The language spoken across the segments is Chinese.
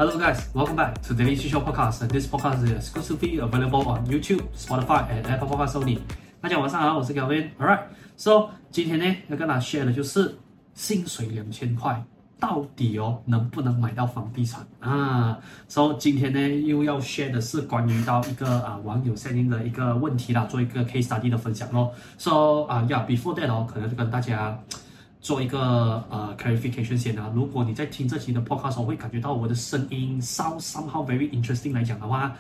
Hello guys, welcome back to the Daily Show Podcast. This podcast is exclusively available on YouTube, Spotify, and Apple Podcasts only. 大家晚上好，我是 Kelvin. Alright, so 今天呢要跟大家 share 的就是薪水2000塊，到底能不能買到房地產啊 ？So 今天呢又要 share 的是關於到一個網友 sending 的一個問題啦，做一個 case study 的分享咯。So before that 可能就跟大家做一個clarification 先啊。如果你在聽這期的 podcast 會感覺到我的聲音 somehow very interesting 來講的話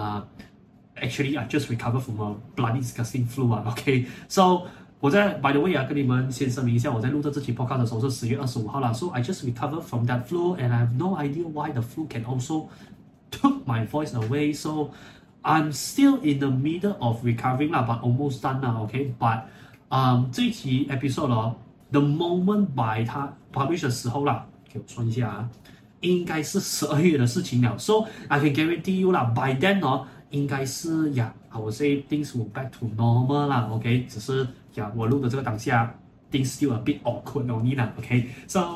actually I just recovered from a bloody disgusting flu okay. So 我在 by the way 跟你們先聲明一下，我在錄這期 podcast 的時候是10月25號啦。So I just recovered from that flu and I have no idea why the flu can also took my voice away. So I'm still in the middle of recovering 啦 but almost done 啦 okay. But 這一期 episode The moment by 它 publish 的時候啦，給我算一下啊，應該是12月的事情了。So I can guarantee you 啦 ，by then 應該是I would say things will back to normal 啦 ，OK。只是我錄的這個當下 ，things still a bit awkward only 啦 ，OK。So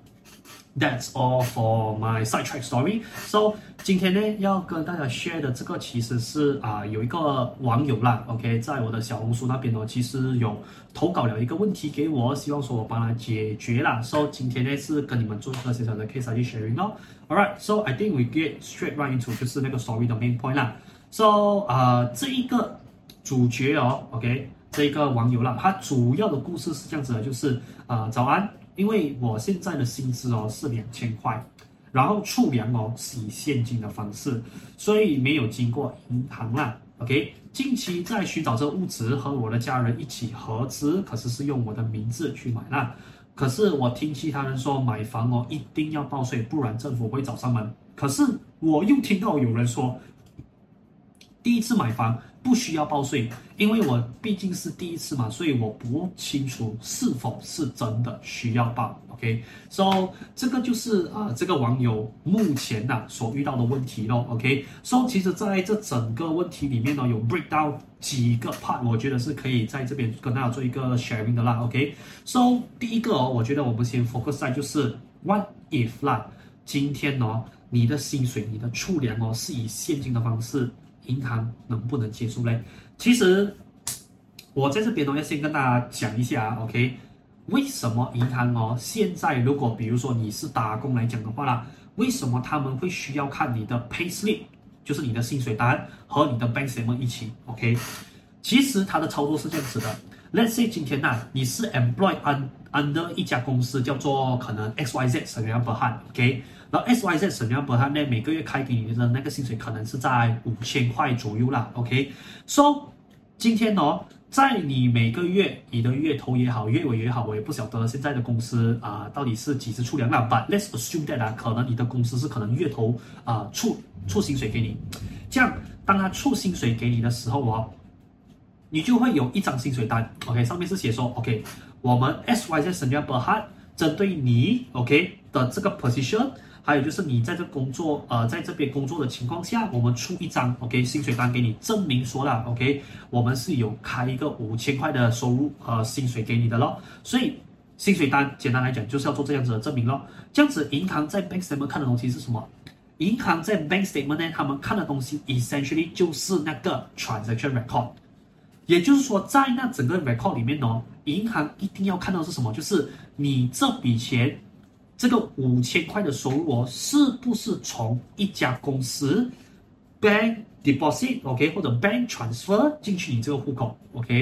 that's all for my sidetrack story. So 今天呢要跟大家 share 的這個其實是有一個網友啦 ，OK， 在我的小紅書那邊其實有投稿了一個問題給我，希望說我幫他解決啦。So 今天呢是跟你們做一個小小的 case study sharing 咯。Alright, so I think we get straight right into 就是那個 story 的 main point 啦。So 這一個主角OK， 這一個網友啦，他主要的故事是這樣子的，就是早安。因為我現在的薪資是2000塊，然後儲糧是以現金的方式，所以沒有經過銀行啦。OK， 近期在尋找這個物質，和我的家人一起合資，可是是用我的名字去買啦。可是我聽其他人說買房一定要報稅，不然政府會找上門。可是我又聽到有人說，第一次買房不需要報稅，因為我畢竟是第一次嘛，所以我不清楚是否是真的需要報。OK，so 這個就是這個網友目前所遇到的問題咯。OK，so 其實在這整個問題裡面有 break down 幾個 part， 我覺得是可以在這邊跟大家做一個 sharing 的啦。OK，so 第一個我覺得我們先 focus 在就是 what if 啦，今天你的薪水、你的儲糧是以現金的方式，銀行能不能接受呢？其實我在這邊要先跟大家講一下 OK， 為什麼銀行現在如果比如說你是打工來講的話啦，為什麼他們會需要看你的 pay slip， 就是你的薪水單和你的 bank statement 一起 OK？ 其實它的操作是這樣子的 ，Let's say 今天你是 employed under 一家公司叫做可能 XYZ Sdn Bhd OK。然後 XYZ Sdn Bhd呢，每個月開給你的那個薪水可能是在5000塊左右啦 ，OK。So 今天在你每個月你的月頭也好，月尾也好，我也不曉得現在的公司到底是幾時出糧啦。But let's assume that 可能你的公司是可能月頭出薪水給你，這樣當他出薪水給你的時候你就會有一張薪水單 ，OK， 上面是寫說 ，OK， 我們 XYZ Sdn Bhd針對你 OK 的這個 position。還有就是你在這工作在這邊工作的情況下，我們出一張 OK 薪水單給你，證明說啦 OK 我們是有開一個5000塊的收入薪水給你的咯。所以薪水單簡單來講就是要做這樣子的證明咯。這樣子銀行在 bank statement 看的東西是什麼？銀行在 bank statement 呢，他們看的東西 essentially 就是那個 transaction record。也就是說，在那整個 record 裡面銀行一定要看到的是什麼？就是你這筆錢。這個5000塊的收入是不是從一家公司 bank deposit OK 或者 bank transfer 進去你這個戶口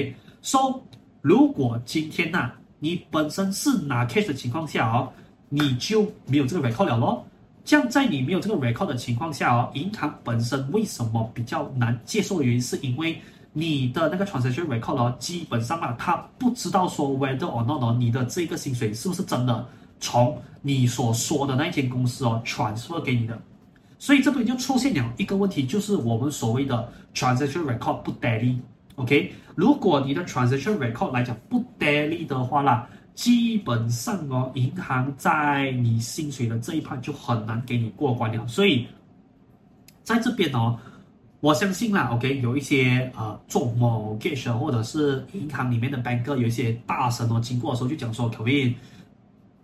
OK？So 如果今天你本身是拿 cash 的情況下你就沒有這個 record 了咯。這樣在你沒有這個 record 的情況下銀行本身為什麼比較難接受的原因，是因為你的那個 transaction record 基本上他不知道說 whether or not 你的這個薪水是不是真的從你所說的那間公司transfer 給你的，所以這邊就出現了一個問題，就是我們所謂的 transaction record 不 tally OK。如果你的 transaction record 來講不 tally 的話啦，基本上銀行在你薪水的這一 part 就很難給你過關了。所以在這邊我相信啦 OK 有一些做 mortgage 或者是銀行裡面的 banker 有一些大神經過的時候就講說 Kelvin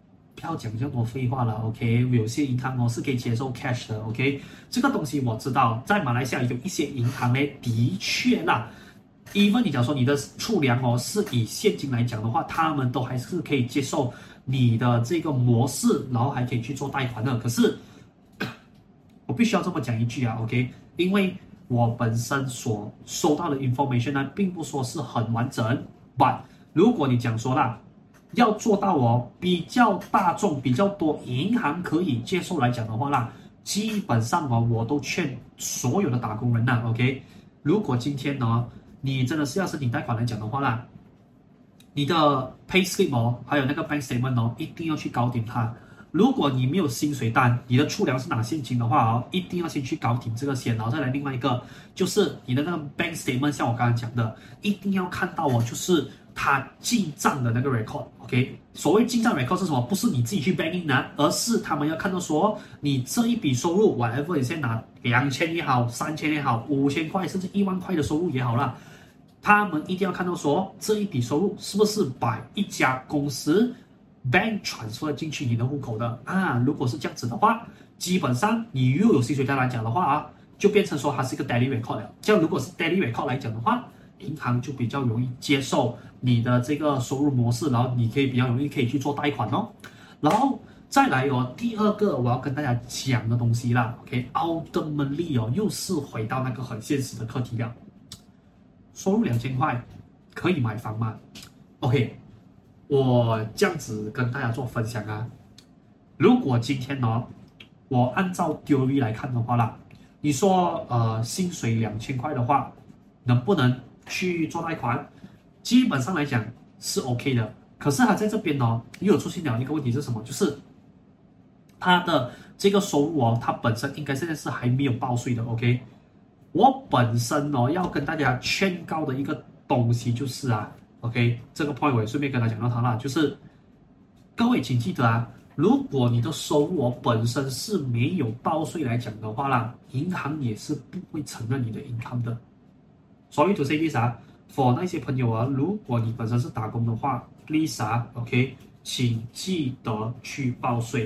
不要講這麼多廢話了 ，OK？ 有些銀行是可以接受 cash 的 ，OK？ 這個東西我知道，在馬來西亞有一些銀行呢，的確啦，even 你講說你的儲糧是以現金來講的話，他們都還是可以接受你的這個模式，然後還可以去做貸款的。可是我必須要這麼講一句啊 ，OK？ 因為我本身所收到的 information 呢，並不說是很完整 ，but 如果你講說啦，要做到比較大眾、比較多銀行可以接受來講的話啦，基本上我都勸所有的打工人啦 ，OK？ 如果今天你真的是要申請貸款來講的話啦，你的 payslip 還有那個 bank statement 一定要去搞定它。如果你沒有薪水單，你的儲糧是拿現金的話一定要先去搞定這個先，然後再來另外一個，就是你的那個 bank statement， 像我剛才講的，一定要看到就是它進賬的那個 record，OK？ 所謂進賬 record 是什麼？不是你自己去 bank in 拿，而是他們要看到說你這一筆收入 ，whatever 你先拿2000也好，3000也好，5000塊甚至1萬塊的收入也好啦，他們一定要看到說這一筆收入是不是把一家公司bank transfer 進去你的戶口的啊？如果是這樣子的話，基本上你又有薪水单來講的話就變成說它是一個 daily record 了。這樣如果是 daily record 來講的話，銀行就比較容易接受你的這個收入模式，然後你可以比較容易可以去做貸款哦。然後再來第二個我要跟大家講的東西啦 ，OK？Ultimately 又是回到那個很現實的課題了。收入2000塊可以買房嗎 ？OK？我這樣子跟大家做分享啊，如果今天我按照 theory 來看的話啦，你說薪水2000塊的話，能不能去做貸款？基本上來講是 OK 的，可是他在這邊又有出現了一個問題是什麼？就是他的這個收入他本身應該現在是還沒有報稅的 ，OK？ 我本身要跟大家勸告的一個東西就是OK， 這個 point 我也順便跟他講到他啦，就是各位請記得如果你的收入本身是沒有報稅來講的話啦，銀行也是不會承認你的 income 的。Sorry to say this for 那些朋友如果你本身是打工的話 ，please OK， 請記得去報稅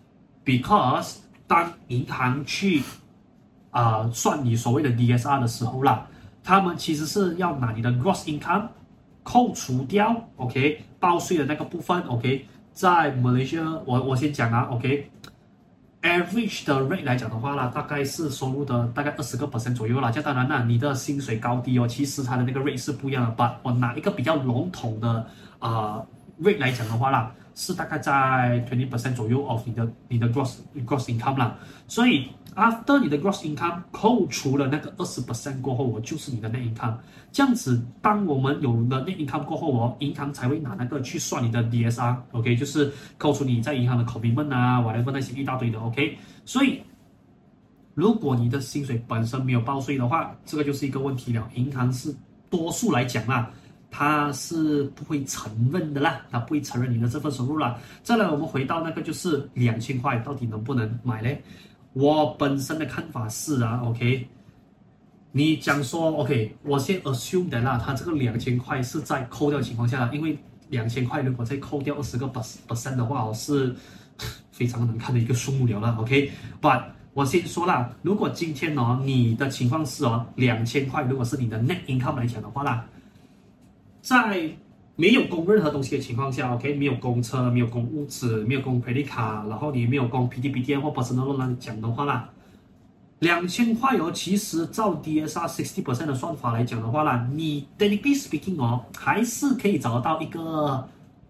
，because 當銀行去算你所謂的 DSR 的時候啦，他們其實是要拿你的 gross income。扣除掉 ，OK， 報稅的那個部分 ，OK， 在 Malaysia， 我先講，OK，average 的 rate 來講的話啦，大概是收入的大概20% 左右啦。這當然啦，你的薪水高低其實它的那個 rate 是不一樣的。But 我拿一個比較籠統的rate 來講的話啦，是大概在 20% 左右 of 你的 gross income 啦。所以 after 你的 gross income 扣除了那個20% 過後，就是你的 net income。這樣子，當我們有了 net income 過後銀行才會拿那個去算你的 DSR，OK， 就是扣除你在銀行的 commitment whatever 那些一大堆的 ，OK。所以，如果你的薪水本身沒有報稅的話，這個就是一個問題了。銀行是多數來講啦，它是不會承認的啦，它不會承認你的這份收入啦。再來，我們回到那個就是2000塊到底能不能買呢？我本身的看法是OK。你講說 OK， 我先 assume 的啦，它這個2000塊是在扣掉的情況下，因為2000塊如果再扣掉20% 的話是非常難看的一個數目了啦 ，OK。But 我先說啦，如果今天你的情況是2000塊，如果是你的 net income 來講的話啦，在沒有供任何東西的情況下 ，OK， 沒有供車，沒有供屋子，沒有供 credit card，然後你沒有供 PTPTN 或 personal loan 來講的話啦。2000塊其實照 DSR 60% 的算法來講的話啦，你 technically speaking 還是可以找得到一個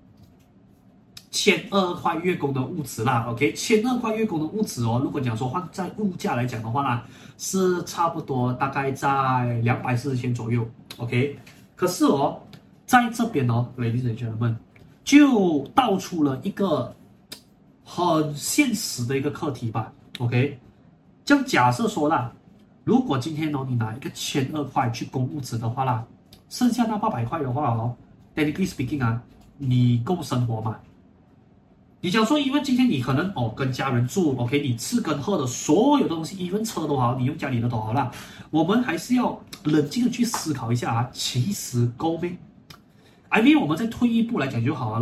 1200塊月供的物質啦 ，OK，1200塊月供的物質如果講說換在物價來講的話啦，是差不多大概在240千左右 ，OK， 可是在這邊ladies and gentlemen 就道出了一個很現實的一個課題吧 ，OK。這樣假設說啦，如果今天你拿一個1200塊去供物質的話啦，剩下那800塊的話technically speaking 你夠生活嗎？你講說，因為今天你可能跟家人住 ，OK， 你吃跟喝的所有的東西，even車都好，你用家裡的都好啦，我們還是要冷靜的去思考一下其實夠沒？I mean 我們再退一步來講就好了啦。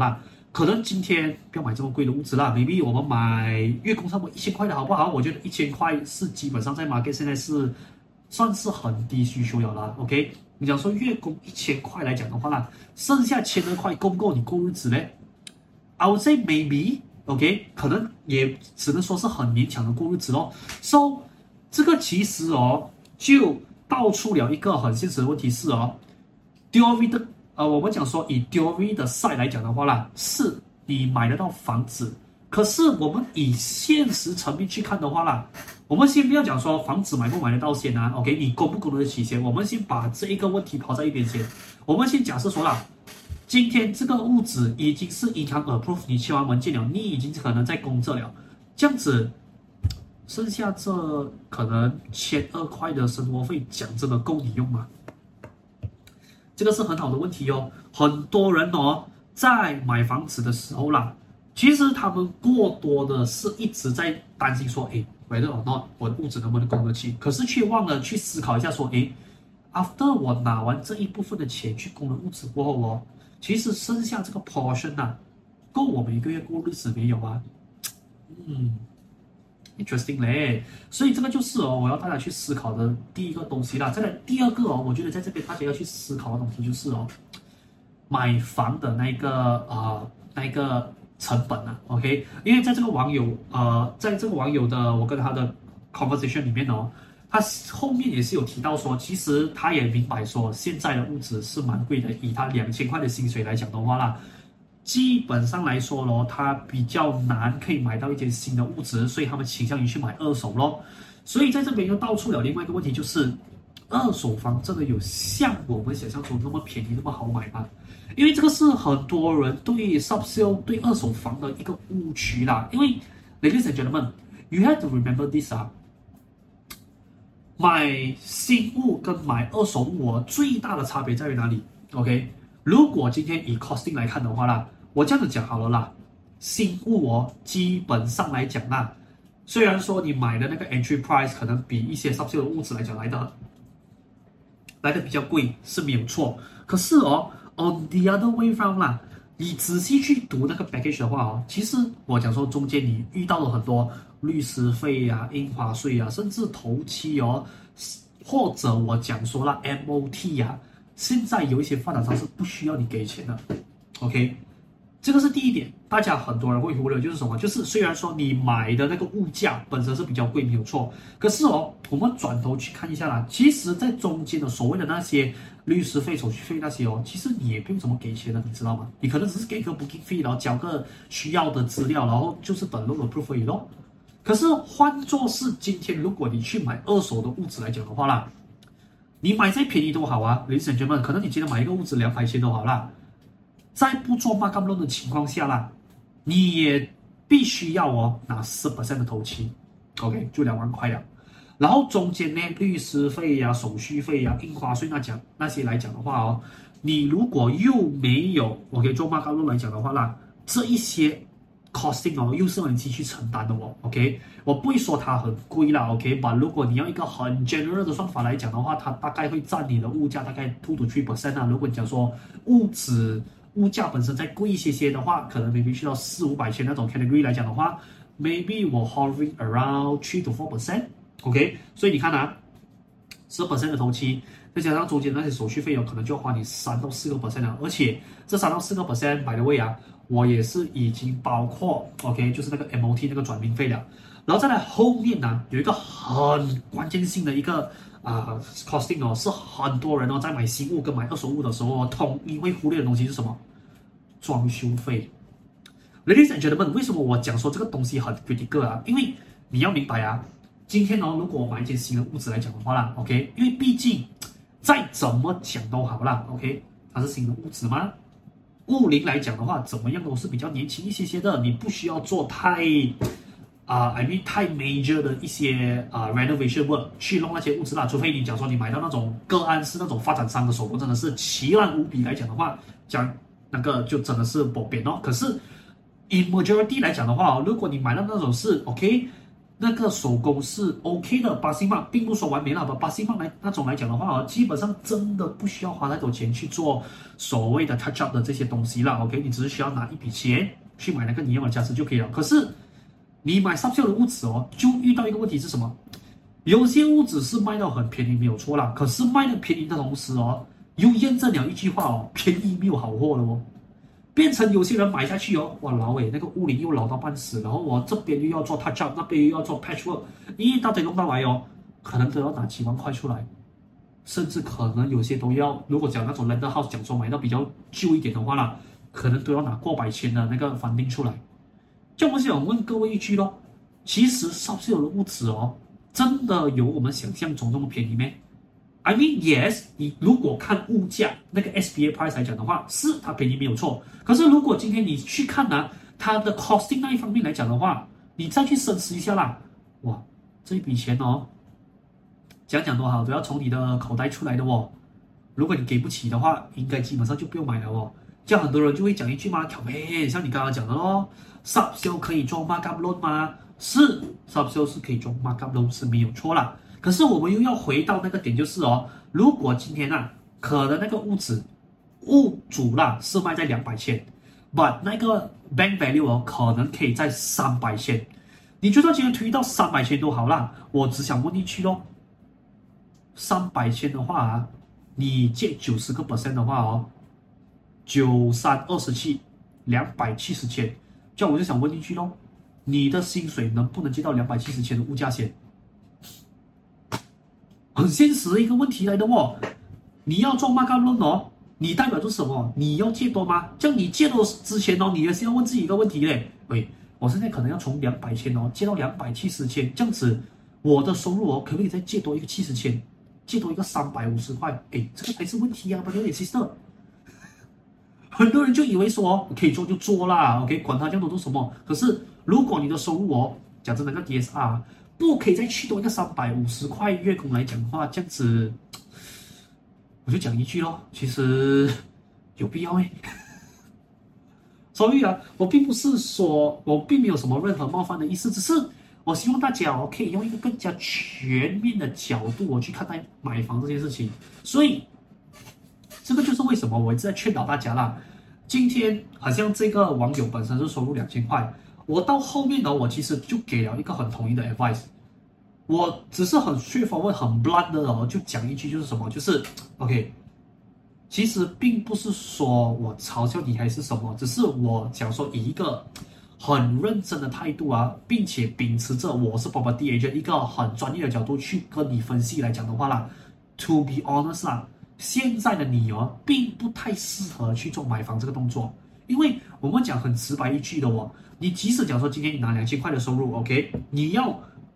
可能今天不要買這麼貴的物資啦 ，maybe 我們買月供差不多1000塊的好不好？我覺得1000塊是基本上在 market 現在是算是很低需求了啦。OK， 你講說月供1000塊來講的話啦，剩下1200塊夠不夠你過日子呢？ I would say maybe。OK， 可能也只能說是很勉強的過日子咯。So， 這個其實就道出了一個很現實的問題是theory 的我們講說以 theory 的 side 來講的話啦，是你買得到房子，可是我們以現實層面去看的話啦，我們先不要講說房子買不買得到先啊 ，OK， 你供不供得起先，我們先把這一個問題拋在一邊先，我們先假設說啦。今天這個物質已經是銀行 approve， 你簽完文件了，你已經可能在供着了，這樣子，剩下這可能1200塊的生活費，講真的夠你用嗎？這個是很好的問題哦。很多人在買房子的時候啦，其實他們過多的是一直在擔心說，whether or not 我的物質能不能供得起，可是卻忘了去思考一下說，after 我拿完這一部分的錢去供了物質過後其實剩下這個 portion 夠我們一個月過日子沒有啊？interesting 嘞，所以這個就是我要大家去思考的第一個東西啦。再來第二個我覺得在這邊大家要去思考的東西就是買房的那個成本OK， 因為在這個網友的我跟他的 conversation 裡面他後面也是有提到說，其實他也明白說，現在的物質是蠻貴的。以他2000塊的薪水來講的話啦，基本上來說他比較難可以買到一間新的物質，所以他們傾向於去買二手咯。所以在這邊又道出了另外一個問題，就是二手房真的有像我們想象中那麼便宜、那麼好買嗎？因為這個是很多人對 subsale 對二手房的一個誤區啦。因為 ladies and gentlemen，you have to remember this買新物跟買二手物最大的差別在於哪裡 ？OK， 如果今天以 costing 來看的話啦，我這樣子講好了啦，新物基本上來講啦，雖然說你買的那個 entry price 可能比一些 subsale 的物質來講來的比較貴是沒有錯，可是on the other way round 啦，你仔細去讀那個 package 的話其實我講說中間你遇到了很多律師費印花稅甚至頭期或者我講說啦 MOT 現在有一些發展商是不需要你給錢的 ，OK， 這個是第一點，大家很多人會忽略，就是什麼？就是雖然說你買的那個物價本身是比較貴，沒有錯，可是我們轉頭去看一下啦，其實在中間的所謂的那些律師費、手續費那些其實你也不用怎麼給錢的，你知道嗎？你可能只是給一個 booking fee， 然後交個需要的資料，然後就是等 loan approve 而已咯。可是換作是今天，如果你去買二手的物質來講的話啦，你買再便宜都好ladies and gentlemen，可能你今天買一個物質200千都好啦，在不做 markup loan 的情況下啦，你也必須要拿10% 的頭期 ，OK， 就2萬塊了。然後中間呢，律師費手續費印花稅那些來講的話你如果又沒有 OK 做 markup loan 來講的話啦，這一些 costing 又是要你自己去承擔的OK， 我不會說它很貴啦 OK， 但如果你要一個很 general 的算法來講的話，它大概會佔你的物價大概2 to 3% 如果你講說物價本身再貴一些的話，可能 maybe 去到400-500千那種 category 來講的話 ，maybe 我 hovering around 3 to 4% OK， 所以你看10% 的頭期，再加上中間那些手續費可能就要花你3到4% 了，而且這3到4% by the way我也是已經包括 OK， 就是那個 MOT 那個轉名費了，然後再來後面有一個很關鍵性的一個costing 是很多人在買新物跟買二手物的時候統一會忽略的東西是什麼？裝修費。Ladies and gentlemen， 為什麼我講說這個東西很 critical 因為你要明白今天如果我買一間新的物質來講的話啦 ，OK， 因為畢竟再怎麼講都好啦 ，OK， 它是新的物質嗎？物齡來講的話，怎麼樣都是比較年輕一些的，你不需要做太太 major 的一些renovation work 去弄那些物質啦，除非你講說你買到那種個案是那種發展商的手工真的是奇爛無比來講的話，講那個就真的是不便可是 in majority 來講的話如果你買到那種是 OK。 那個手工是 OK 的，巴西曼並不說完美了，巴西曼那種來講的話基本上真的不需要花太多錢去做所謂的 touch up 的這些東西了 ，OK， 你只是需要拿一筆錢去買那個你要的家私就可以了。可是你買上秀的物質就遇到一個問題是什麼？有些物質是賣到很便宜沒有錯啦，可是賣的便宜的同時又驗證了一句話便宜沒有好貨了變成有些人買下去哇老那個屋齡又老到半死，然後我這邊又要做 touch up， 那邊又要做 patchwork， 一大堆弄到來可能都要拿幾萬塊出來，甚至可能有些都要，如果講那種 landed house 講說買到比較舊一點的話啦，可能都要拿過百千的那個房定出來。這樣我想問各位一句咯，其實上市有的物質真的有我們想象中那麼便宜嗎？ I mean yes， 你如果看物價那個 SBA price 來講的話，是它便宜沒有錯。可是如果今天你去看它的 costing 那一方面來講的話，你再去深思一下啦，哇，這一筆錢講多好都要從你的口袋出來的如果你給不起的話，應該基本上就不用買了這樣很多人就會講一句嘛，像你剛剛講的咯 ，sub sale 可以做 markup loan 嗎？是 sub sale 是可以做 markup loan 是沒有錯啦。可是我們又要回到那個點，就是如果今天可能那個物主是賣在200千 ，but 那個 bank value 可能可以在300千，你就算今天推到300千都好啦。我只想問一句咯，300千的話你借90% 的話9327，270千，這樣我就想問一句咯，你的薪水能不能借到270千的物價先？很現實的一個問題來的你要做 markup loan你代表着什麼？你要借多嗎？這樣你借多之前你也是要問自己一個問題嘞。我現在可能要從200千借到270千，這樣子我的收入可不可以再借多一個70千，借多一個350塊？這個才是問題啊 ，brother and sister。很多人就以為說可以做就做啦 ，OK， 管他這樣多做什麼。可是如果你的收入講真那個 DSR。不可以再去多一個350塊月供來講的話，這樣子我就講一句咯，其實有必要所以我並不是說我並沒有什麼任何冒犯的意思，只是我希望大家可以用一個更加全面的角度去看待買房這件事情。所以這個就是為什麼我一直在勸導大家啦。今天好像這個網友本身是收入2000塊。我到後面我其實就給了一個很統一的 advice， 我只是很 straightforward 很 blunt 的就講一句就是什麼，就是 OK， 其實並不是說我嘲笑你還是什麼，只是我講說以一個很認真的態度並且秉持着我是 property agent 一個很專業的角度去跟你分析來講的話啦 ，to be honest 現在的你並不太適合去做買房這個動作，因為我們講很直白一句的你即使講說今天你拿2000塊的收入 ，OK， 你要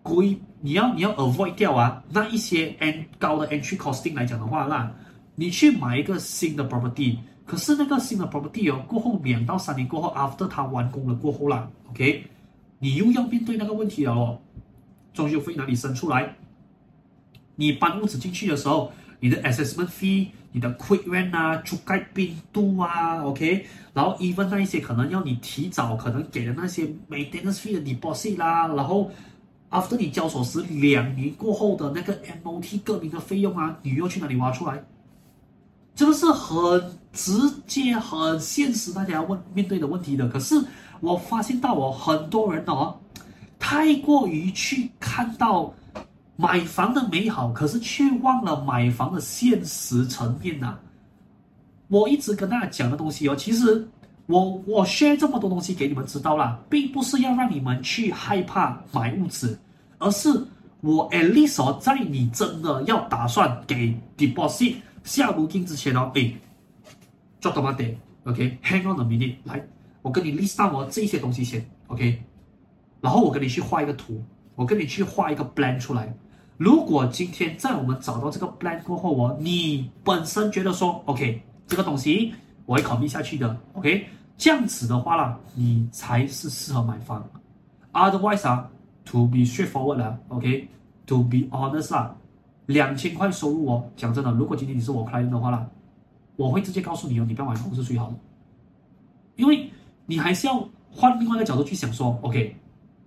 avoid 掉那一些高的 entry costing 來講的話啦，你去買一個新的 property， 可是那個新的 property 過後2到3年過後 ，after 它完工了過後啦 ，OK， 你又要面對那個問題了裝修費哪裡生出來？你搬屋子進去的時候，你的 assessment fee。你的 quick rent 覆蓋冰度OK， 然後 even 那一些可能要你提早可能給的那些 maintenance fee 的 deposit 啦，然後 after 你交所時2年過後的那個 MOT 各名的費用你又去哪裡挖出來？這個是很直接、很現實，大家要面對的問題的。可是我發現到很多人太過於去看到買房的美好，可是卻忘了買房的現實層面我一直跟大家講的東西其實我 share 這麼多東西給你們知道啦，並不是要讓你們去害怕買屋子，而是我 at least 在你真的要打算給 deposit 下如金之前做到嗎 OK， hang on a minute， 來，我跟你 list down 這些東西先 OK， 然後我跟你去畫一個圖，我跟你去畫一個 plan 出來。如果今天在我們找到這個 plan 過後你本身覺得說 OK 這個東西我會考慮下去的 OK， 這樣子的話啦，你才是適合買房。Otherwise to be straightforward OK， to be honest 2000塊收入講真的，如果今天你是我 client 的話啦，我會直接告訴你你不要買房是最好的，因為你還是要換另外一個角度去想說 OK，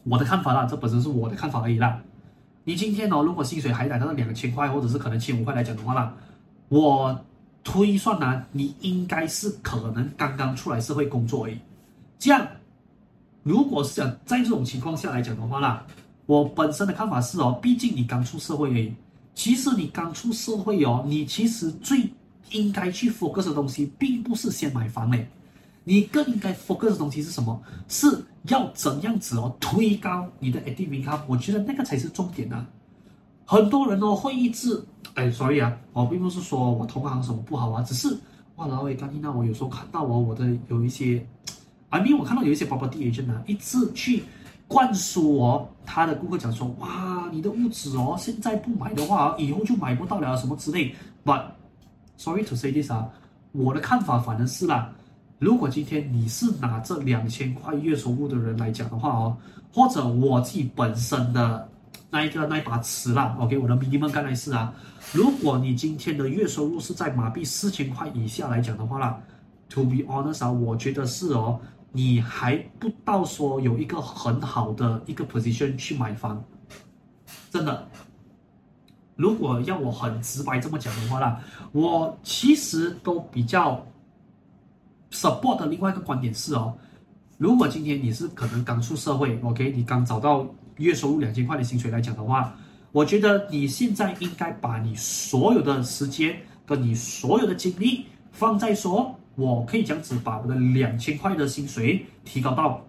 我的看法啦，這本身是我的看法而已啦。你今天如果薪水還達到2000塊，或者是可能1500塊來講的話啦，我推算呢，你應該是可能剛剛出來社會工作而已。這樣，如果是講在這種情況下來講的話啦，我本身的看法是畢竟你剛出社會而已。其實你剛出社會你其實最應該去 focus 的東西，並不是先買房嘞，你更應該 focus 的東西是什麼？是要怎樣子推高你的 active income， 我覺得那個才是重點啊。很多人會一直sorry 啊，我並不是說我同行什麼不好啊，只是哇老偉剛那我有時候看到我的有一些我看到有一些 property agent 一直去灌輸他的顧客講說，哇你的屋子現在不買的話以後就買不到了什麼之類。But sorry to say this 我的看法反而是啦，如果今天你是拿這2000塊月收入的人來講的話或者我自己本身的那把尺啦 ，OK， 我的 minimum 剛才是如果你今天的月收入是在馬幣4000塊以下來講的話啦 ，to be honest 我覺得是你還不到說有一個很好的一個 position 去買房，真的。如果要我很直白這麼講的話啦，我其實都比較 support 的另外一個觀點是如果今天你是可能剛出社會 ，OK， 你剛找到月收入2000塊的薪水來講的話，我覺得你現在應該把你所有的時間跟你所有的精力放在說，我可以這樣子把我的2000塊的薪水提高到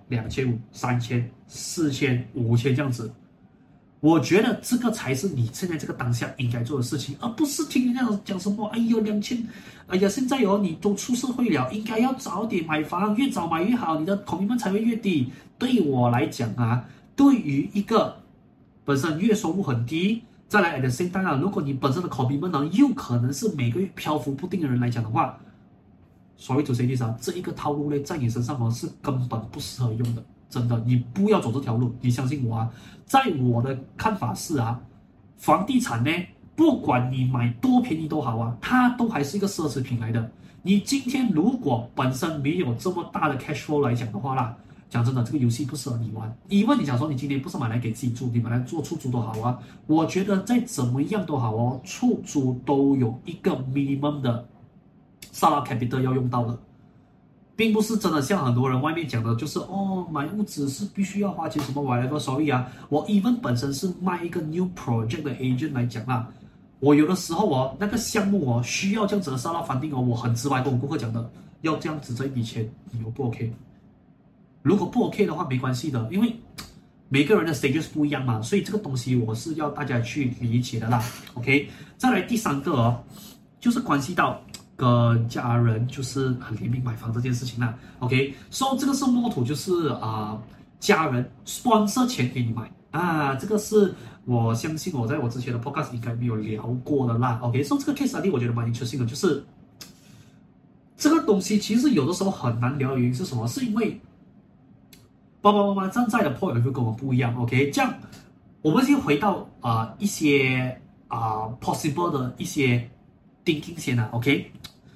2500、3000、4000、5000這樣子。我覺得這個才是你現在這個當下應該做的事情，而不是聽人家講什麼，哎呦2000，哎呀現在你都出社會了，應該要早點買房，越早買越好，你的 commitment 才會越低。對我來講對於一個本身月收入很低，再來 at the same time如果你本身的 commitment 又可能是每個月漂浮不定的人來講的話，sorry to say this這一個套路呢，在你身上是根本不適合用的。真的，你不要走這條路，你相信我在我的看法是房地產呢，不管你買多便宜都好它都還是一個奢侈品來的。你今天如果本身沒有這麼大的 cash flow 來講的話啦，講真的，這個遊戲不適合你玩。因為你想說，你今天不是買來給自己住，你買來做出租都好我覺得再怎麼樣都好出租都有一個 minimum 的 startup capital 要用到的。並不是真的像很多人外面講的，就是買屋子是必須要花錢什麼whatever。sorry我 even 本身是賣一個 new project 的 agent 來講我有的時候那個項目需要這樣子的startup funding我很直白跟我顧客講的，要這樣子這一筆錢，你又不 OK？ 如果不 OK 的話沒關係的，因為每個人的 stages 不一樣嘛，所以這個東西我是要大家去理解的啦。OK， 再來第三個就是關係到跟家人就是很聯名買房這件事情啦 ，OK， 所以這個是摸圖，就是家人 sponsor 錢給你買這個是我相信我在我之前的 podcast 應該沒有聊過的啦 ，OK， 所以這個 case study 我覺得蠻interesting的，就是這個東西其實有的時候很難聊的原因是什麼？是因為爸爸媽媽站在的 point 會跟我們不一樣 ，OK， 這樣我們先回到一些possible 的一些thinking先OK。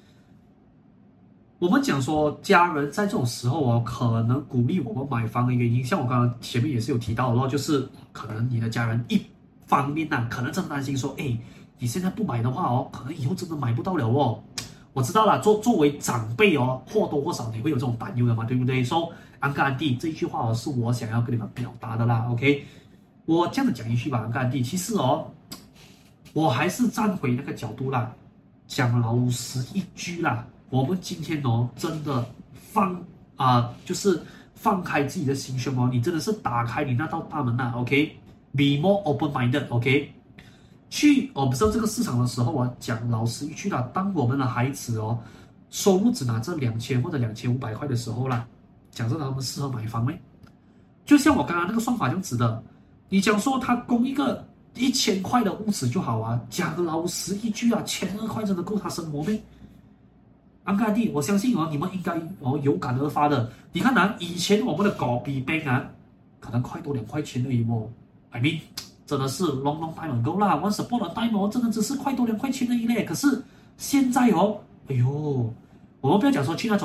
我們講說家人在這種時候可能鼓勵我們買房的原因，像我剛剛前面也是有提到的就是可能你的家人一方面可能真的擔心說，你現在不買的話可能以後真的買不到了我知道啦，作為長輩或多或少你會有這種擔憂的嘛，對不對？說安哥安弟這一句話是我想要跟你們表達的啦 ，OK， 我這樣子講一句吧，安哥安弟，其實我還是站回那個角度啦，講老實一句啦。我們今天真的就是放開自己的心胸你真的是打開你那道大門OK，be more open-minded OK， 去observe這個市場的時候講老實一句啦，當我們的孩子收入只拿這2000或者2500塊的時候啦，講真的他們適合買房嗎？就像我剛剛那個算法這樣子的，你講說他供一個1000塊的屋子就好講老實一句1200塊真的夠他生活嗎？安哥弟，我相信你們應該有感而發的。你看以前我們的狗比 bank 可能塊多2塊錢而已I mean， 真的是 long time ago 啦。Once upon a time 真的只是塊多2塊錢而已嘞。可是現在哎呦，我們不要講說去那種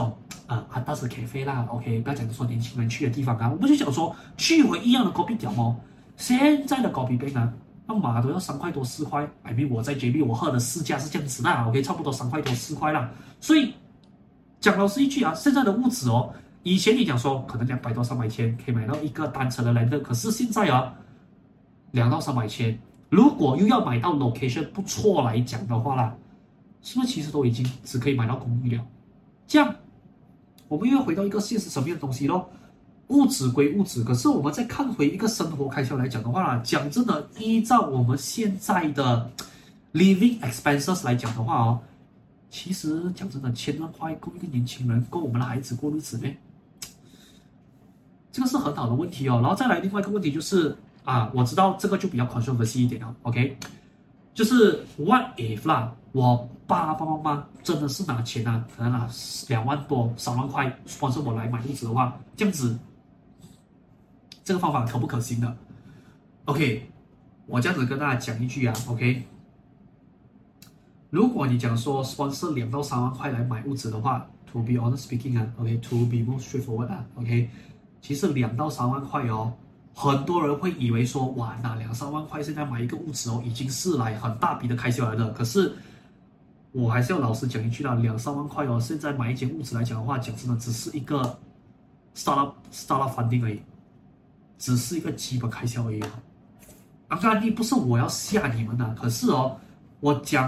但是咖啡啦 ，OK， 不要講說年輕人去的地方啊，我們就講說去回一樣的 kopitiam 哦，現在的 kopi 杯呢，那碼都要3塊多4塊，I mean 我在 JB 我喝的市價是這樣子啦 ，OK， 差不多3塊多4塊啦，所以講老實一句啊，現在的物質哦，以前你講說可能200多300千可以買到一個單車的 lander， 可是現在啊，2到300千，如果又要買到 location 不錯來講的話啦，是不是其實都已經只可以買到公寓了？這樣。我們又要回到一個現實層面的東西咯，物質歸物質，可是我們再看回一個生活開銷來講的話，講真的，依照我們現在的 living expenses 來講的話哦，其實講真的，1000萬塊夠一個年輕人，夠我們的孩子過日子咩？這個是很好的問題哦。然後再來另外一個問題就是我知道這個就比較 controversial 一點了 ，OK， 就是 what if 啦，我爸爸媽媽真的是拿錢可能拿2萬多3萬塊 sponsor 我來買屋子的話，這樣子，這個方法可不可行的 ？OK， 我這樣子跟大家講一句，OK， 如果你講說 sponsor 2到3萬塊來買屋子的話 ，to be honest speaking，OK，to be more straightforward，OK， 其實2到3萬塊哦，很多人會以為說，哇，那2、3萬塊現在買一個屋子哦，已經是來很大筆的開銷來的，可是。我還是要老實講一句啦，2、3萬塊哦，現在買一間屋子來講的話，講真的只是一個 startup funding 而已，只是一個基本開銷而已。當然，不是我要嚇你們可是哦，我講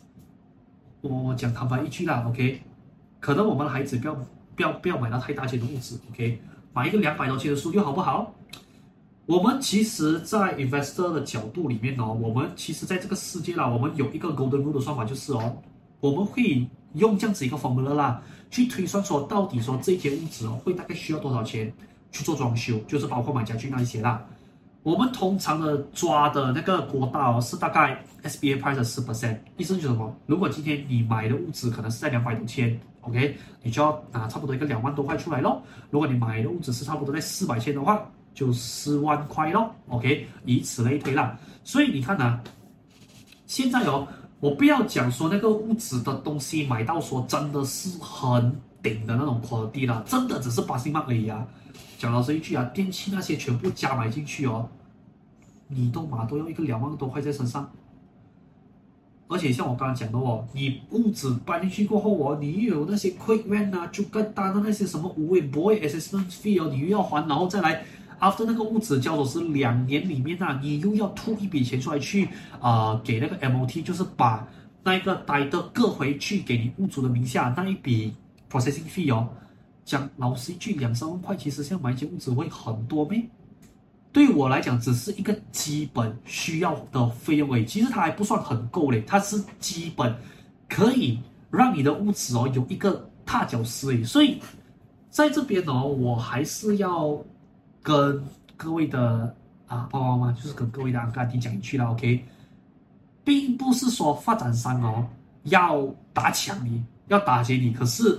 坦白一句啦 ，OK， 可能我們的孩子不要買到太大間的屋子 ，OK， 買一個200多千的 studio 好不好？我們其實，在 investor 的角度裡面哦，我們其實在這個世界啦，我們有一個 golden rule 的算法，就是哦。我們會用這樣子一個 formula 啦，去推算說到底說這間屋子哦，會大概需要多少錢去做裝修，就是包括買家具那一些啦。我們通常的抓的那個國大哦，是大概 SBA price 的10%，意思就是什麼？如果今天你買的屋子可能是在200多千 ，OK， 你就要拿差不多一個2萬多塊出來咯。如果你買的屋子是差不多在400千的話，就4萬塊咯 ，OK， 以此類推啦。所以你看現在哦。我不要講說那個屋子的東西買到說真的是很頂的那種 quality 啦，真的只是passing mark而已講老實一句電器那些全部加買進去哦，你都要一個2萬多塊在身上。而且像我剛剛講的哦，你屋子搬進去過後哦，你又有那些 quick rent 就更大的那些什麼boy assessment fee 哦，你又要還，然後再來。after 那個屋子交的是2年裡面你又要吐一筆錢出來去給那個 MOT， 就是把那個呆的各回去給你屋主的名下那一筆 processing fee 哦。講老實一句，2、3萬塊其實像買一間屋子會很多咩？對於我來講，只是一個基本需要的費用而已。其實它還不算很夠嘞，它是基本可以讓你的屋子哦有一個踏腳石而已。所以在這邊哦，我還是要。跟各位的爸爸媽媽，就是跟各位的安哥阿弟講一句啦 ，OK， 並不是說發展商哦要打搶你，要打劫你，可是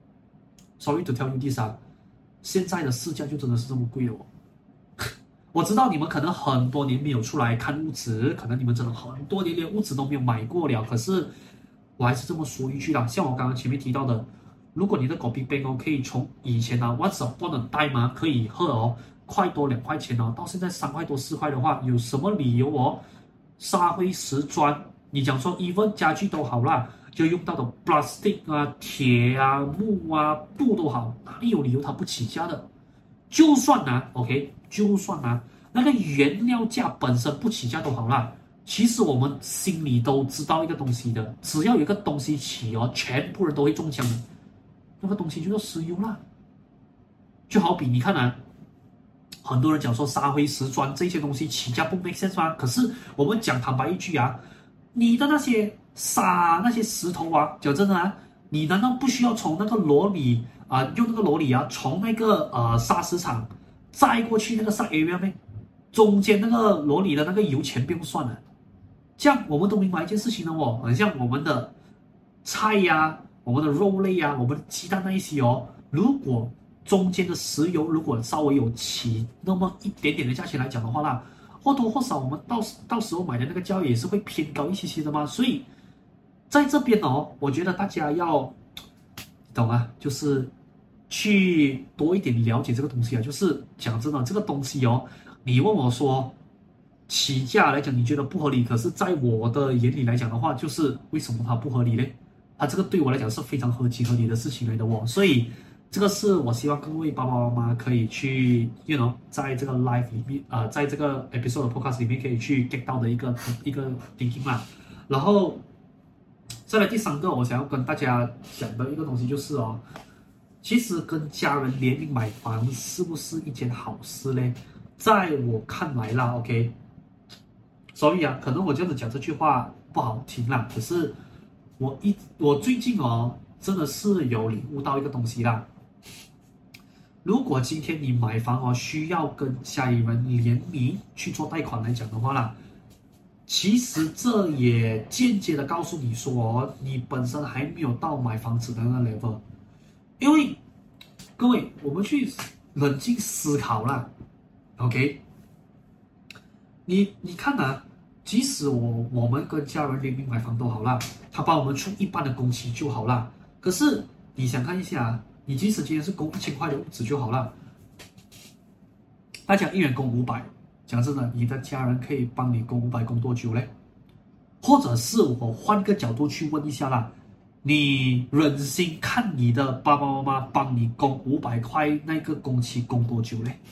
，sorry to tell you this 現在的市價就真的是這麼貴了哦。我知道你們可能很多年沒有出來看屋子，可能你們真的很多年連屋子都沒有買過了，可是我還是這麼說一句啦，像我剛剛前面提到的，如果你的 kopi 杯可以從以前once upon a time可以喝哦。塊多2塊錢哦，到現在3塊多4塊的話，有什麼理由哦？沙灰石磚，你講說 even 家具都好啦，就用到的 plastic 鐵木布都好，哪裡有理由它不起價的？就算OK， 就算那個原料價本身不起價都好啦。其實我們心裡都知道一個東西的，只要有一個東西起哦，全部人都會中槍的，那個東西就叫石油啦。就好比你看很多人講說沙灰石磚這些東西起價不 make sense 嗎？可是我們講坦白一句你的那些沙那些石頭講真的你難道不需要從那個羅里用那個羅里從那個砂石場載過去那個 site area 咩？中間那個羅里的那個油錢不用算了。這樣我們都明白一件事情了哦，很像我們的菜我們的肉類我們的雞蛋那一些如果中間的石油如果稍微有起那麼一點點的價錢來講的話或多或少我們到時候買的那個價位也是會偏高一些的嘛。所以在這邊我覺得大家要懂就是去多一點了解這個東西啊。就是講真的，這個東西哦，你問我說起價來講，你覺得不合理，可是在我的眼裡來講的話，就是為什麼它不合理呢？它這個對我來講是非常合情合理的事情來的哦。所以這個是我希望各位爸爸媽媽可以去在這個 live 裡面在這個 episode 的 podcast 裡面可以去 get 到的一個 thinking 啦。然後再來第三個，我想要跟大家講的一個東西就是哦，其實跟家人聯名買房是不是一件好事呢？在我看來啦 ，OK， 所以啊，可能我這樣子講這句話不好聽啦，可是我最近哦，真的是有領悟到一個東西啦。如果今天你買房哦，需要跟家裡人聯名去做貸款來講的話啦，其實這也間接的告訴你說哦，你本身還沒有到買房子的那個 level。因為各位，我們去冷靜思考啦 ，OK？ 你看啊，即使我們跟家人聯名買房都好啦，他幫我們出一半的工期就好啦。可是你想看一下，你即使今天是供1000塊的屋子就好了，大家一人供500，講真的，你的家人可以幫你供500供多久嘞？或者是我換個角度去問一下啦，你忍心看你的爸爸媽媽幫你供500塊那個工期供多久嘞？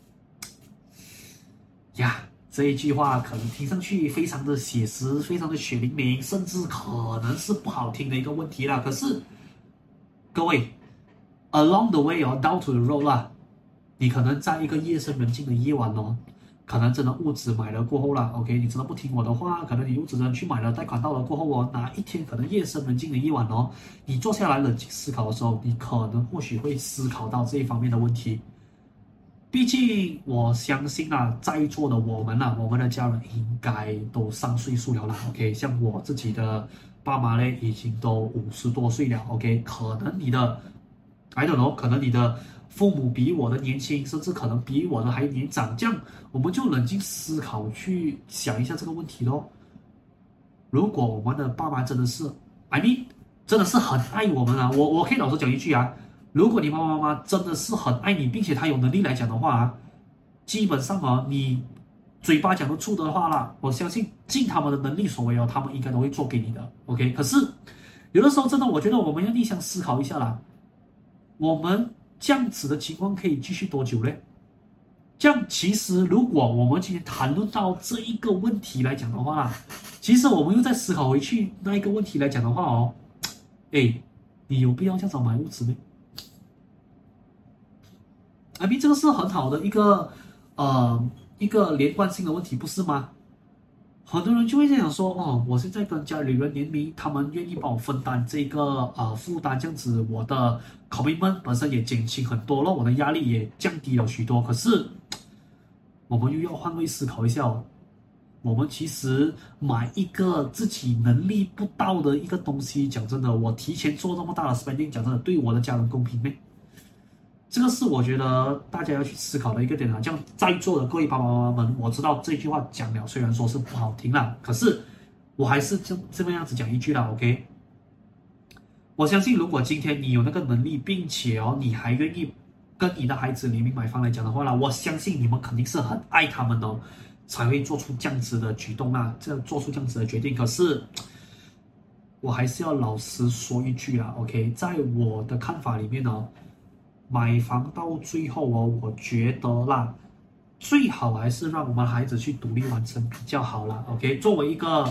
呀，這一句話可能聽上去非常的寫實，非常的血淋淋，甚至可能是不好聽的一個問題啦。可是各位 ，along the way 哦 ，down to the road 啦，你可能在一個夜深人靜的夜晚哦，可能真的屋子買了過後啦 ，OK， 你真的不聽我的話，可能你屋子真的去買了，貸款到了過後哦，哪一天可能夜深人靜的夜晚哦，你坐下來冷靜思考的時候，你可能或許會思考到這一方面的問題。畢竟我相信啊，在座的我們的家人應該都上歲數了啦 ，OK， 像我自己的爸媽呢，已經都50多歲了 ，OK， 可能你的 I don't know， 可能你的父母比我的年輕，甚至可能比我的還年長，這樣我們就冷靜思考去想一下這個問題咯。如果我們的爸媽真的是 I mean 真的是很愛我們啊，我可以老實講一句啊，如果你爸爸媽媽真的是很愛你，并且他有能力來講的話啊，基本上啊，你嘴巴講得出的話啦，我相信盡他們的能力所為哦，他們應該都會做給你的 ，OK。可是有的時候真的，我覺得我們要逆向思考一下啦，我們這樣子的情況可以繼續多久呢？這樣其實如果我們今天談論到這一個問題來講的話啦，其實我們又再思考回去那一個問題來講的話哦，哎，你有必要這樣子買屋子嗎？I mean， 這個是很好的一個連貫性的問題，不是嗎？很多人就會這樣說哦，我現在跟家裡人聯名，他們願意幫我分擔這個負擔，這樣子我的 commitment 本身也減輕很多了，我的壓力也降低了許多。可是我們又要換位思考一下哦，我們其實買一個自己能力不到的一個東西，講真的，我提前做這麼大的 spending， 講真的，對我的家人公平嗎？這個是我覺得大家要去思考的一個點啊。這樣在座的各位爸爸媽媽們，我知道這句話講了，雖然說是不好聽啦，可是我還是這麼樣子講一句啦 ，OK。我相信，如果今天你有那個能力，並且哦，你還願意跟你的孩子聯名買房來講的話啦，我相信你們肯定是很愛他們哦，才會做出這樣子的舉動啦，做出這樣子的決定。可是我還是要老實說一句啦 ，OK， 在我的看法裡面呢，買房到最後哦，我覺得啦，最好還是讓我們孩子去獨立完成比較好啦。OK， 作為一個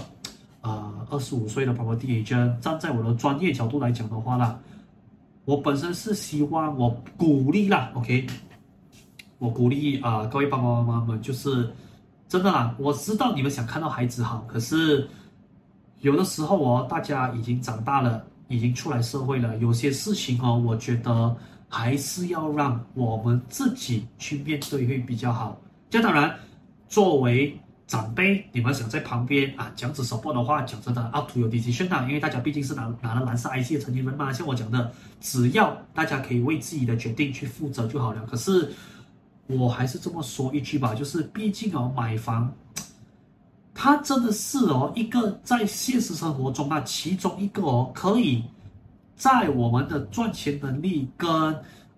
25歲的 property agent， 站在我的專業角度來講的話啦，我本身是希望我鼓勵啦 ，OK， 我鼓勵各位爸爸媽媽們，就是真的啦，我知道你們想看到孩子好，可是有的時候哦，大家已經長大了，已經出來社會了，有些事情哦，我覺得還是要讓我們自己去面對會比較好。這當然，作為長輩，你們想在旁邊這樣子 support 的話，講真的 up to your decision 因為大家畢竟是拿了藍色 IC 的成年人嘛。像我講的，只要大家可以為自己的決定去負責就好了。可是我還是這麼說一句吧，就是畢竟哦，買房它真的是哦一個在現實生活中其中一個可以在我們的賺錢能力跟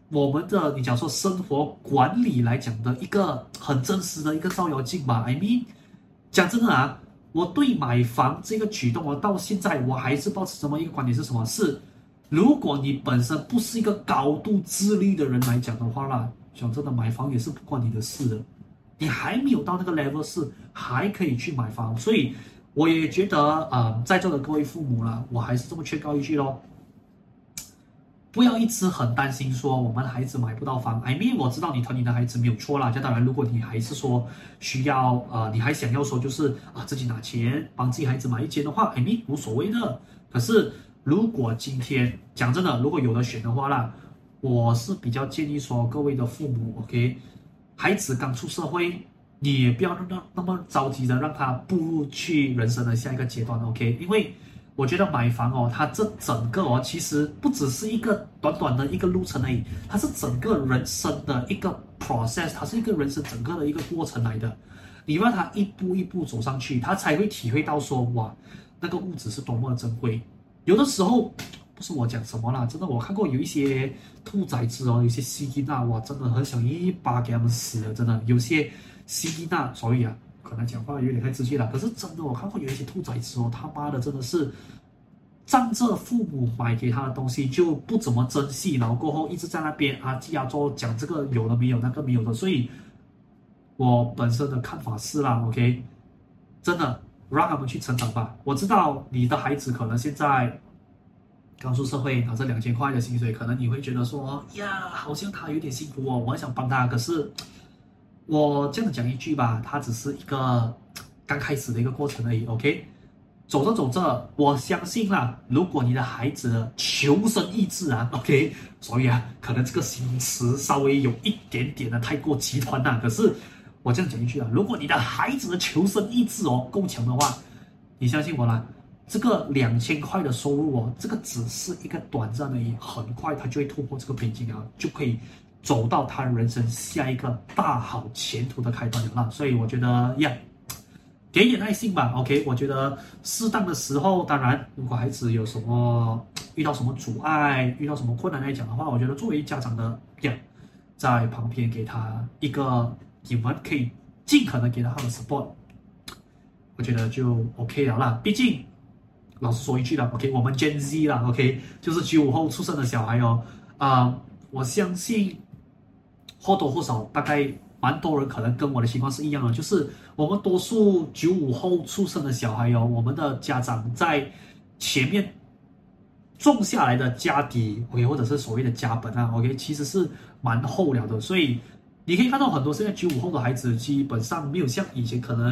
我們的你講說生活管理來講的一個很真實的一個照妖鏡吧。I mean， 講真的啊，我對買房這個舉動，我到現在我還是抱持這麼一個觀點是什麼？是如果你本身不是一個高度自律的人來講的話啦，講真的，買房也是不關你的事的。你還沒有到那個 level 是還可以去買房，所以我也覺得在座的各位父母啦，我還是這麼勸告一句咯。不要一直很擔心說我們的孩子買不到房。I mean， 我知道你疼你的孩子沒有錯啦。當然，如果你還是說需要你還想要說就是自己拿錢幫自己孩子買一間的話 ，I mean 無所謂的。可是如果今天講真的，如果有得選的話啦，我是比較建議說各位的父母 ，OK， 孩子剛出社會，你也不要那麼着急的讓他步入去人生的下一個階段 ，OK， 因為我覺得買房哦，它這整個其實不只是一個短短的一個路程而已，它是整個人生的一個 process， 它是一個人生整個的一個過程來的。你讓他一步一步走上去，他才會體會到說，哇，那個物質是多麼的珍貴。有的時候不是我講什麼啦，真的我看過有一些兔崽子哦，有些西吉娜，哇，真的很想一巴給他們死了，真的有些西吉娜，所以可能講話有點太直接了，可是真的我看過有一些兔崽子哦，他媽的真的是仗着父母買給他的東西就不怎麼珍惜，然後過後一直在那邊嘰呀做講這個有的沒有那個沒有的，所以我本身的看法是啦 ，OK， 真的讓他們去成長吧。我知道你的孩子可能現在剛出社會拿着2000塊的薪水，可能你會覺得說呀，好像他有點辛苦哦，我很想幫他，可是我這樣講一句吧，它只是一個剛開始的一個過程而已 ，OK。走着走着，我相信啦，如果你的孩子的求生意志，OK， 所以可能这個形容詞稍微有一點點的太過極端啦。可是我這樣講一句如果你的孩子的求生意志夠強的話，你相信我啦，這個2000塊的收入這個只是一個短暫而已，很快他就會突破這個瓶頸就可以走到他人生下一個大好前途的開端了啦。所以我覺得給一點耐心吧 ，OK。我覺得適當的時候，當然，如果孩子有什麼遇到什麼阻礙、遇到什麼困難來講的話，我覺得作為家長的在旁邊給他一個你們可以盡可能給他的 support， 我覺得就 OK 了啦。畢竟老實說一句啦 ，OK， 我們 Gen Z 啦 ，OK， 就是95後出生的小孩我相信或多或少大概蠻多人可能跟我的情況是一樣的，就是我們多數95後出生的小孩我們的家長在前面種下來的家底 ，OK， 或者是所謂的家本OK， 其實是蠻厚了的，所以你可以看到很多現在95後的孩子，基本上沒有像以前可能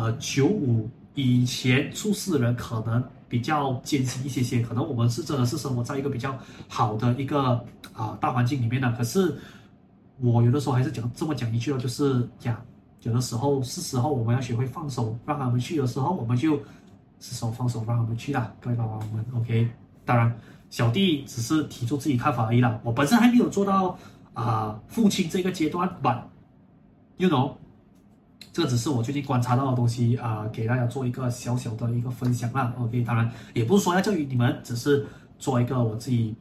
95以前出世的人可能比較艱辛一些，可能我們是真的是生活在一個比較好的一個大環境裡面的，可是我有的時候還是這麼講一句就是有的時候是時候我們要學會放手，讓他們去的時候，我們就是手放手讓他們去啦，各位爸爸們 OK。當然，小弟只是提出自己看法而已啦，我本身還沒有做到父親這個階段 ，but you know， 這個只是我最近觀察到的東西給大家做一個小小的一個分享啦 ，OK。當然，也不是說要教育你們，只是做一個我自己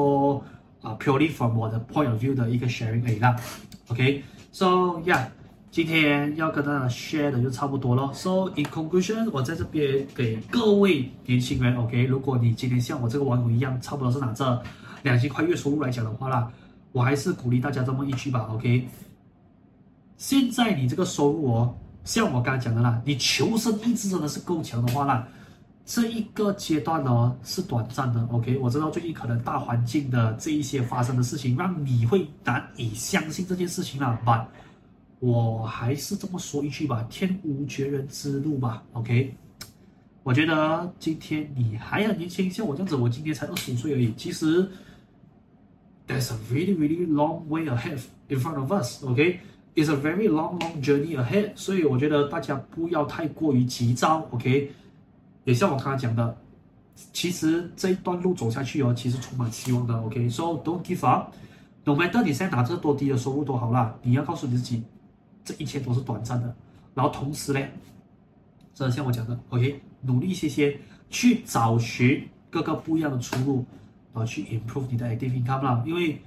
purely from 我的 point of view 的一個 sharing 而已啦 ，OK。So yeah。今天要跟大家 share 的就差不多了。So in conclusion， 我在這邊給各位年輕人 ，OK， 如果你今天像我這個網友一樣，差不多是拿着2000塊月收入來講的話啦，我還是鼓勵大家這麼一句吧 ，OK。現在你這個收入像我剛才講的啦，你求生意志真的是夠強的話啦，這一個階段是短暫的 ，OK。我知道最近可能大環境的這一些發生的事情，讓你會難以相信這件事情啦 ，but我還是這麼說一句吧，天無絕人之路吧 ，OK。我覺得今天你還很年輕，像我這樣子，我今年才25歲而已。其實 ，there's a really really long way ahead in front of us，OK。It's a very long journey ahead。所以我覺得大家不要太過於急躁 ，OK。也像我剛才講的，其實這一段路走下去其實充滿希望的 ，OK。So don't give up。No matter 你現在拿着多低的收入都好啦，你要告訴你自己。這一切都是短暫的，然後同時呢，真的像我講的 ，OK， 努力一些，去找尋各個不一樣的出路，然後去 improve 你的 active income 啦。因為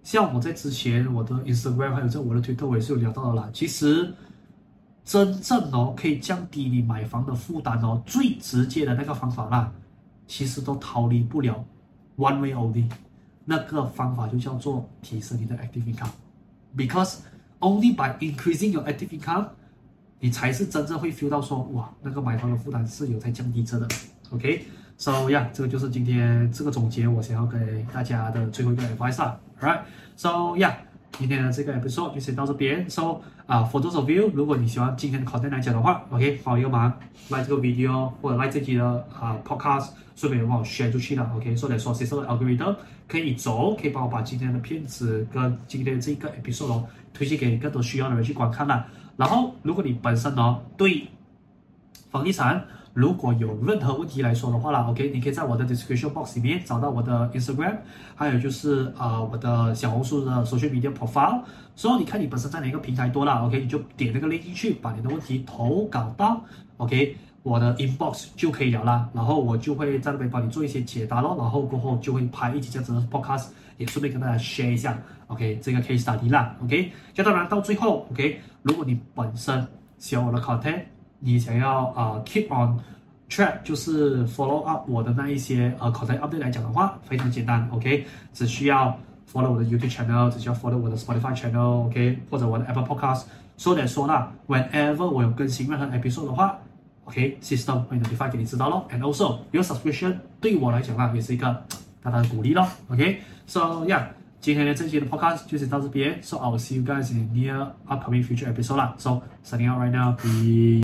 像我在之前我的 Instagram 還有在我的 Twitter 我也是有聊到的啦。其實真正可以降低你買房的負擔最直接的那個方法啦，其實都逃離不了 one way only。那個方法就叫做提升你的 active income，because only by increasing your active income， 你才是真正會 feel 到說，哇，那個買房的負擔是有在降低着的。OK，so yeah， 這個就是今天這個總結我想要給大家的最後一個 advice 啦。Alright，so yeah， 今天的這個 episode 就先到這邊。So for those of you， 如果你喜歡今天的 content 來講的話 ，OK， 幫我一個忙 ，like 這個 video 或者 like 這集的podcast， 順便幫我 share 出去了 ，OK， 所以說接受的 algorithm 可以走，可以幫我把今天的片子跟今天這個 episode 推薦給更多需要的人去觀看啦。然後，如果你本身對房地產如果有任何問題來說的話啦 ，OK， 你可以在我的 description box 裡面找到我的 Instagram， 還有就是我的小紅書的 social media profile。所以你看你本身在哪個平台多啦 ，OK， 你就點那個 link 進去，把你的問題投稿到 OK 我的 inbox 就可以了啦。然後我就會在那邊幫你做一些解答咯，然後過後就會拍一集這樣子的 podcast， 也順便跟大家 share 一下 OK 這個 case study 啦 OK。就當然到最後 OK， 如果你本身喜歡我的 content，你想要keep on track， 就是 follow up 我的那一些content update 來講的話，非常簡單 ，OK， 只需要 follow 我的 YouTube channel， 只需要 follow 我的 Spotify channel，OK， 或者我的 Apple Podcast。说來說啦 ，whenever 我有更新任何 episode 的話 ，OK，system 會 notify 給你知道咯。And also your subscription 對我來講啦，也是一個大大的鼓勵咯。OK，so yeah， 今天的這期的 podcast 就先到這邊。So I will see you guys in the near upcoming future episode 啦。So signing out right now，peace。